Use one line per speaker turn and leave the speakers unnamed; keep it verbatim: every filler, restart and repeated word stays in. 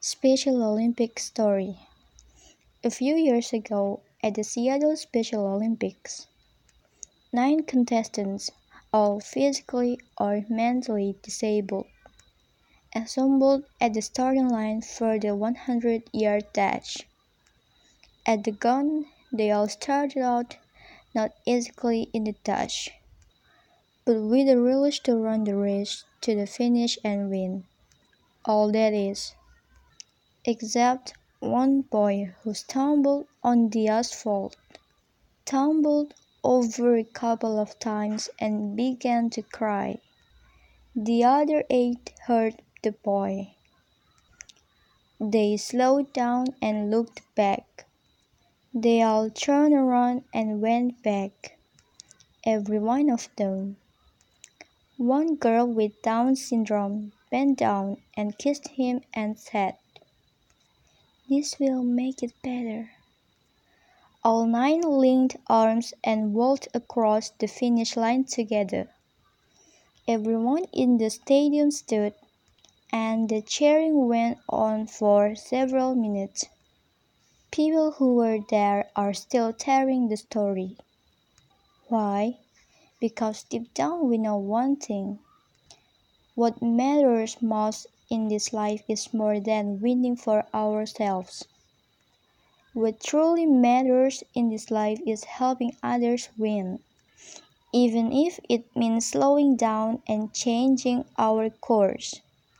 Special Olympics story. A few years ago, at the Seattle Special Olympics, nine contestants, all physically or mentally disabled, assembled at the starting line for the one hundred yard dash. At the gun, they all started out not exactly in the dash, but with a relish to run the race to the finish and win. All that is. Except one boy who stumbled on the asphalt, tumbled over a couple of times and began to cry. The other eight heard the boy. They slowed down and looked back. They all turned around and went back, every one of them. One girl with Down syndrome bent down and kissed him and said, "This will make it better." All nine linked arms and walked across the finish line together. Everyone in the stadium stood, and the cheering went on for several minutes. People who were there are still telling the story. Why? Because deep down we know one thing. What matters most in this life is more than winning for ourselves. What truly matters in this life is helping others win, even if it means slowing down and changing our course.